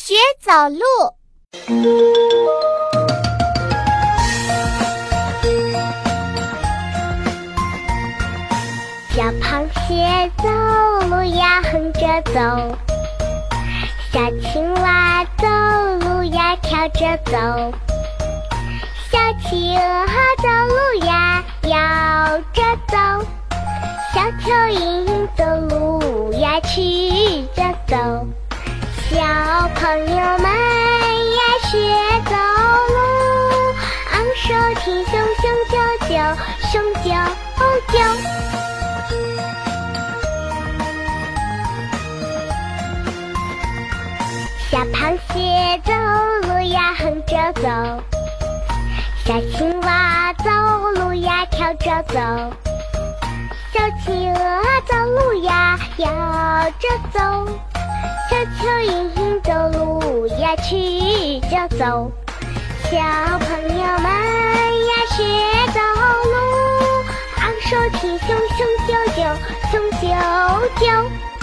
学走路。小螃蟹走路呀横着走，小青蛙走路呀跳着走，小企鹅走路呀摇着走，小蚯蚓走路呀曲着走。小朋友们呀学走路，昂首挺胸雄赳赳雄赳赳。小螃蟹走路呀横着走，小青蛙走路呀跳着走，小企鹅走路呀摇着走，小蚯蚓走路呀曲着走。小朋友们呀学走路，昂首挺胸雄赳赳雄赳赳。